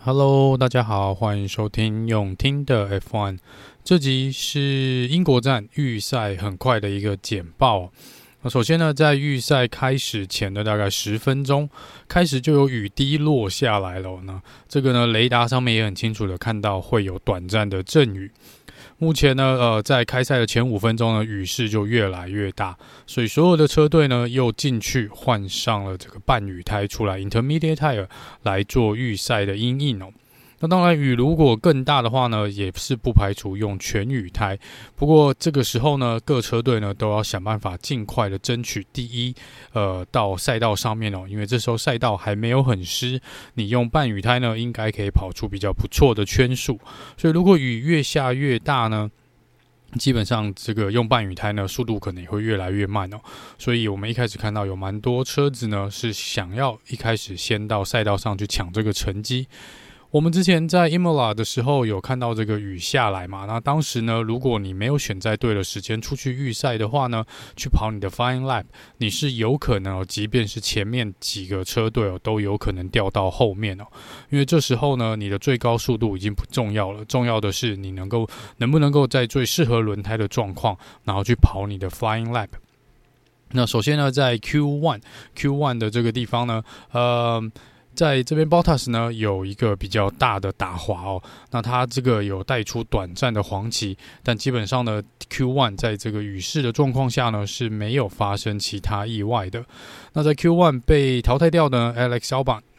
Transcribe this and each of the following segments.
Hello， 大家好，歡迎收聽用聽的 F1。這集是英國站預賽很快的一個簡報。首先呢，在預賽開始前的大概10分鐘，開始就有雨滴落下來了。那這個呢，雷達上面也很清楚的看到會有短暫的陣雨。目前呢，在開賽的前5分鐘呢，雨勢就越來越大，所以所有的車隊呢又進去換上了這個半雨胎出來 （intermediate tire） 來做預賽的因應哦。那當然，雨如果更大的話呢，也是不排除用全雨胎。不過這個時候呢，各車隊呢都要想辦法盡快的爭取第一，到賽道上面哦，因為這時候賽道還沒有很濕，你用半雨胎呢，應該可以跑出比較不錯的圈數。所以如果雨越下越大呢，基本上這個用半雨胎呢，速度可能也會越來越慢哦。所以我們一開始看到有蠻多車子呢，是想要一開始先到賽道上去搶這個成績。我們之前在 Imola 的時候有看到這個雨下來嘛，那當時呢，如果你沒有選在對的時間出去預賽的話呢，去跑你的 Flying Lap， 你是有可能即便是前面幾個車隊都有可能掉到後面因為這時候呢，你的最高速度已經不重要了，重要的是你能不能夠在最適合輪胎的狀況，然後去跑你的 Flying Lap。那首先呢，在 Q1 的這個地方呢，在這邊 Bottas 呢有一個比較大的打滑哦，那他這個有帶出短暫的黃旗，但基本上呢 Q1 在這個雨勢的狀況下呢是沒有發生其他意外的。那在 Q1 被淘汰掉的 Alex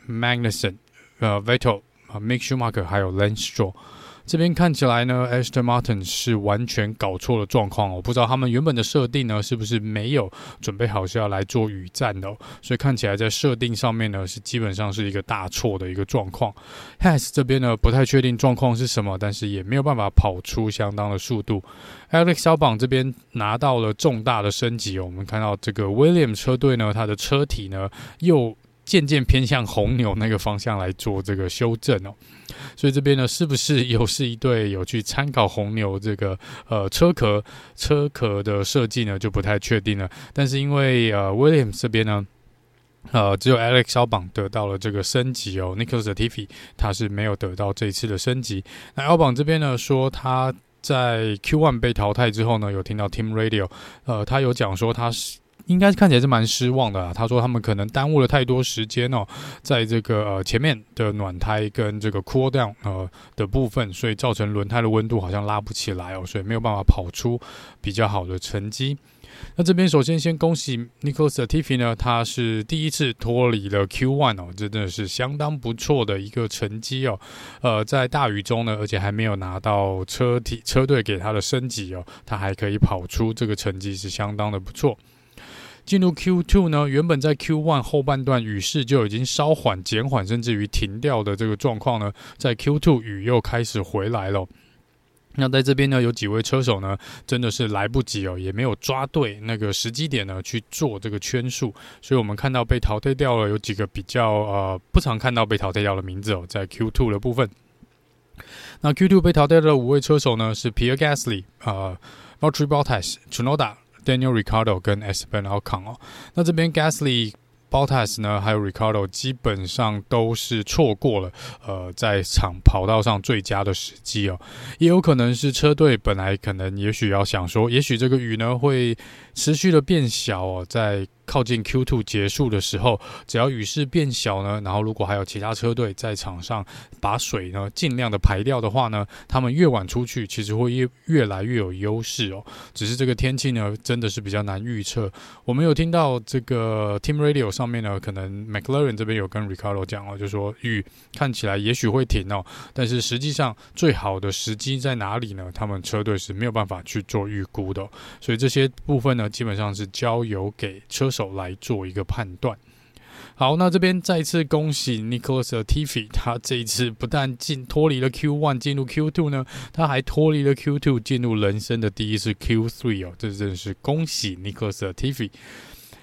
Albon、Magnussen、Vettel、Mick Schumacher 還有 Lance Stroll。這邊看起來呢 Aston Martin 是完全搞錯了狀況哦，不知道他們原本的設定呢是不是沒有準備好是要來做雨戰的所以看起來在設定上面呢是基本上是一個大錯的一個狀況。Haas 這邊呢不太確定狀況是什麼，但是也沒有辦法跑出相當的速度。Alex Albon 這邊拿到了重大的升級我們看到這個 Williams 車隊呢，它的車體呢又漸漸偏向紅牛那個方向來做這個修正所以這邊呢是不是又是一隊有去參考紅牛這個車殼的設計呢，就不太確定了。但是因為Williams 這邊呢只有 Alex Albon 得到了這個升級Nicholas Latifi 他是沒有得到這一次的升級。那 Albon 這邊呢說他在 Q1 被淘汰之後呢，有聽到 Team Radio 他有講說他是應該看起來是蠻失望的他說他們可能耽誤了太多時間在這個前面的暖胎跟這個 cool down 的部分，所以造成輪胎的溫度好像拉不起來所以沒有辦法跑出比較好的成績。那這邊首先先恭喜 Nicholas Latifi 呢，他是第一次脫離了 Q1 真的是相當不錯的一個成績在大雨中呢，而且還沒有拿到車隊給他的升級他還可以跑出這個成績是相當的不錯。進入 Q2 呢，原本在 Q1 後半段雨勢就已經稍緩、減緩，甚至於停掉的這個狀況呢，在 Q2 雨又開始回來了。那在這邊呢，有幾位車手呢，真的是來不及也沒有抓對那個時機點呢去做這個圈數，所以我們看到被淘汰掉了有幾個比較不常看到被淘汰掉的名字在 Q2 的部分。那 Q2 被淘汰的5位車手呢是 Pierre Gasly、Valtteri Bottas、Tsunoda、Daniel Ricciardo 跟 Esteban Ocon 那這邊 Gasly、Bottas 呢還有 Ricciardo 基本上都是錯過了在跑道上最佳的時機也有可能是車隊本來可能也許要想說，也許這個雨呢會持續的變小在靠近 Q2 結束的時候，只要雨勢變小呢，然後如果還有其他車隊在場上把水呢盡量的排掉的話呢，他們越晚出去其實會越來越有優勢只是這個天氣呢真的是比較難預測。我們有聽到這個 Team Radio 上面呢，可能 McLaren 這邊有跟 Ricardo 講就說雨看起來也許會停但是實際上最好的時機在哪裡呢？他們車隊是沒有辦法去做預估的所以這些部分呢基本上是交由給車手來做一個判斷。好，那這邊再次恭喜 Nicholas Latifi， 他這一次不但脫離了 Q1 進入 Q2 呢，他還脫離了 Q2 進入人生的第一次 Q3 這真的是恭喜 Nicholas Latifi。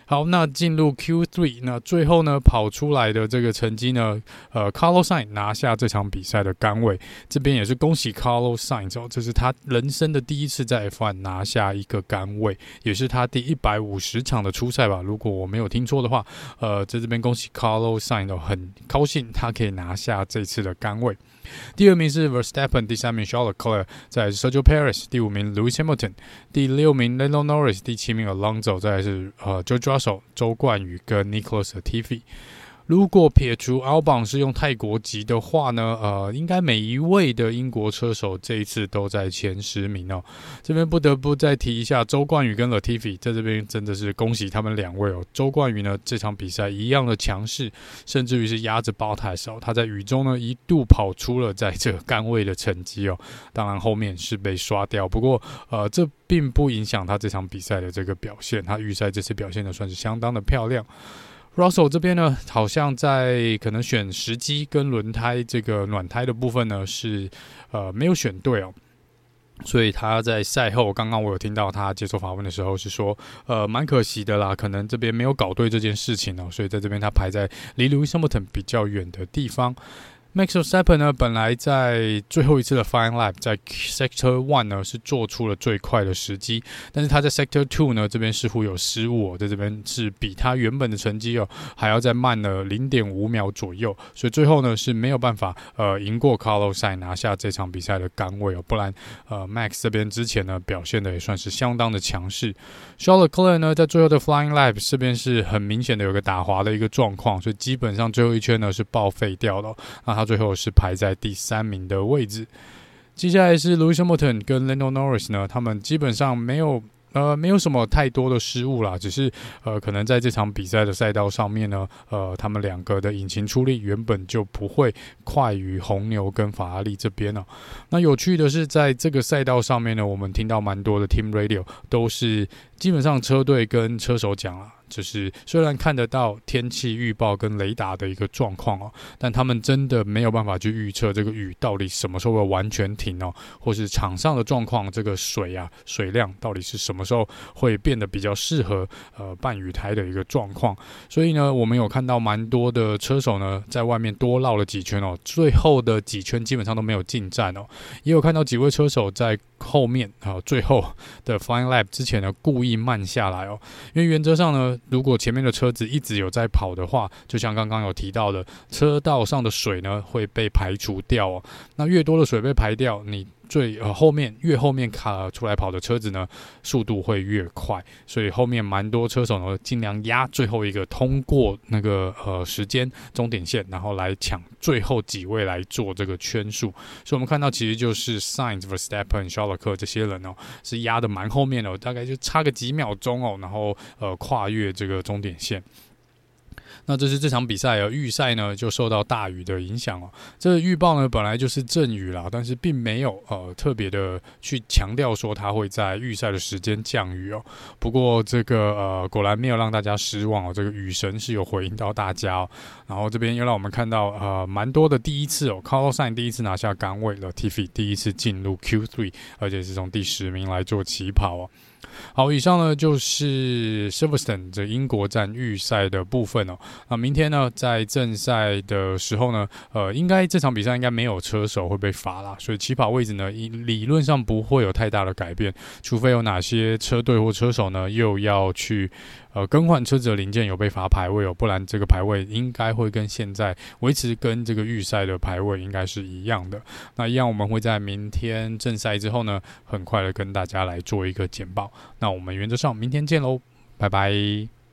好，那進入 Q3， 那最後呢跑出來的這個成績呢，Carlos Sainz 拿下這場比賽的桿位，這邊也是恭喜 Carlos Sainz 哦，這是他人生的第一次在 F1 拿下一個桿位，也是他第150場的出賽吧，如果我沒有聽錯的話，在這邊恭喜 Carlos Sainz 哦，很高興他可以拿下這次的桿位。第二名是 Verstappen， 第三名 Charles Leclerc， 再來是 Sergio Perez， 第五名 Lewis Hamilton， 第六名 Lando Norris， 第七名 Alonso， 再來是George Russell 周冠宇跟 Nicholas Latifi。如果撇除 Albon 是用泰國籍的話呢，應該每一位的英國車手這一次都在前10名哦。這邊不得不再提一下周冠宇跟 Latifi， 在這邊真的是恭喜他們兩位哦。周冠宇呢這場比賽一樣的強勢，甚至於是壓着Bottas哦，他在雨中呢一度跑出了在這個桿位的成績哦。當然後面是被刷掉，不過這並不影響他這場比賽的這個表現，他預賽這次表現的算是相當的漂亮。Russell 這邊呢，好像在可能選時機跟輪胎這個暖胎的部分呢，是沒有選對哦，所以他在賽後，剛剛我有聽到他接受訪問的時候是說，蠻可惜的啦，可能這邊沒有搞對這件事情哦，所以在這邊他排在離 Lewis Hamilton 比較遠的地方。Max Verstappen 呢，本來在最後一次的 Final Lap 在 Sector 1呢是做出了最快的時機，但是他在 Sector 2呢這邊似乎有失誤哦，在這邊是比他原本的成績哦還要再慢了 0.5 秒左右，所以最後呢是沒有辦法贏過 Carlos Sainz 拿下這場比賽的桿位哦，不然Max 這邊之前呢表現的也算是相當的強勢。Charles Leclerc 呢在最後的 Flying Lap 這邊是很明顯的有個打滑的一個狀況，所以基本上最後一圈呢是報廢掉的哦，那他最後是排在第3名的位置。接下來是 Lewis Hamilton 跟 Lando Norris 呢，他們基本上沒有什麼太多的失誤啦，只是可能在這場比賽的賽道上面呢，他們兩個的引擎出力原本就不會快於紅牛跟法拉利這邊哦。那有趣的是，在這個賽道上面呢，我們聽到蠻多的 Team Radio 都是基本上車隊跟車手講啊，就是雖然看得到天氣預報跟雷達的一個狀況哦，但他們真的沒有辦法去預測這個雨到底什麼時候會完全停哦，或是場上的狀況，這個水量到底是什麼時候會變得比較適合辦雨胎的一個狀況。所以呢，我們有看到蠻多的車手呢在外面多繞了幾圈哦，最後的幾圈基本上都沒有進站哦，也有看到幾位車手在後面最後的 Flying Lap 之前呢故意慢下來哦，因為原則上呢，如果前面的車子一直有在跑的話，就像剛剛有提到的，車道上的水呢會被排除掉哦。那越多的水被排掉，你越後面出來跑的車子呢，速度會越快。所以後面蠻多車手呢，盡量壓最後一個通過那個時間終點線，然後來搶最後幾位來做這個圈數。所以我們看到其實就是 Sainz、Verstappen、Charles Leclerc 這些人哦，是壓得蠻後面的，大概就差個幾秒鐘哦，然後跨越這個終點線。那這是這場比賽預賽呢就受到大雨的影響哦。這個預報呢本來就是陣雨啦，但是並沒有特別的去強調說它會在預賽的時間降雨哦。不過這個果然沒有讓大家失望哦，這個雨神是有回應到大家哦。然後這邊又讓我們看到蠻多的第一次哦 ，Carlos Sainz 第一次拿下桿位了 ，Latifi 第一次進入 Q3， 而且是從第10名來做起跑哦。好，以上呢就是 Silverstone 這英國站預賽的部分哦。那明天呢，在正賽的時候呢，應該這場比賽應該沒有車手會被罰啦，所以起跑位置呢，理論上不會有太大的改變，除非有哪些車隊或車手呢又要去更換車子的零件有被罰排位哦，不然這個排位應該會跟現在維持跟這個預賽的排位應該是一樣的。那一樣我們會在明天正賽之後呢，很快的跟大家來做一個簡報。那我們原則上明天見嘍，拜拜。